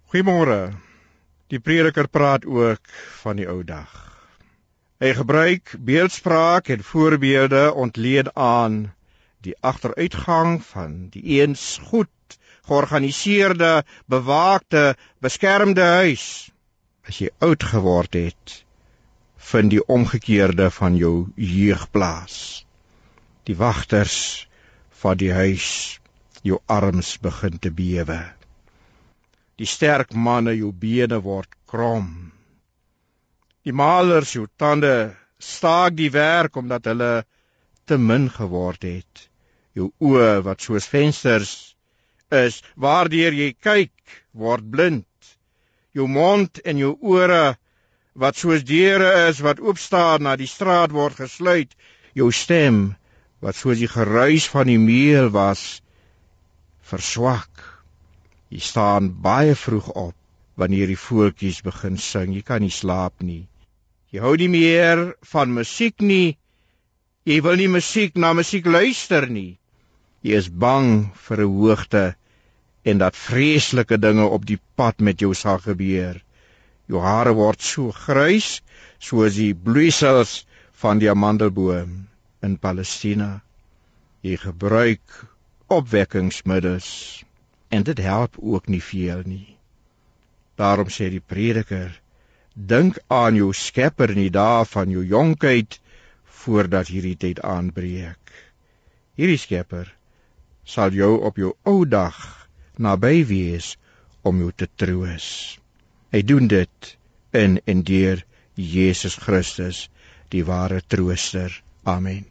Goeiemôre. Die prediker praat ook van die ou dag. Hy gebruik beeldspraak en voorbeelde ontleed aan die agteruitgang van die eens goed georganiseerde, bewaakte, beskermde huis. As jy oud geword het, vind die omgekeerde van jou jeug plaas. Die wagters van die huis, jou arms begin te bewe. Die sterk manne, jou bene word krom. Die malers, jou tande, staak die werk omdat hulle te min geword het. Jou oë wat soos vensters is, waardeur jy kyk, word blind. Jou mond en jou ore wat soos deure is wat oopstaan na die straat word gesluit. Jou stem wat soos die geruis van die meel was, verswak. Jy staan baie vroeg op, wanneer die voeltjies begin sing, jy kan nie slaap nie. Jy hou nie meer van musiek nie, jy wil nie na musiek luister nie. Jy is bang vir 'n hoogte, en dat vreeslike dinge op die pad met jou sal gebeur. Jou hare word so grys, soos die bloeisels van die amandelboom in Palestina. Jy gebruik opwekkingsmiddels, en dit help ook nie veel nie. Daarom sê die prediker, dink aan jou Skepper in die dae van jou jonkheid, voordat hierdie tyd aanbreek. Hierdie Skepper sal jou op jou ou dag naby wees om jou te troos. Hy doen dit in en deur Jesus Christus, die ware trooster. Amen.